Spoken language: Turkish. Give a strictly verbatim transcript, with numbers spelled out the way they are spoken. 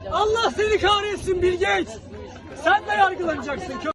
Allah seni kahretsin Bill Gates. Sen de yargılanacaksın.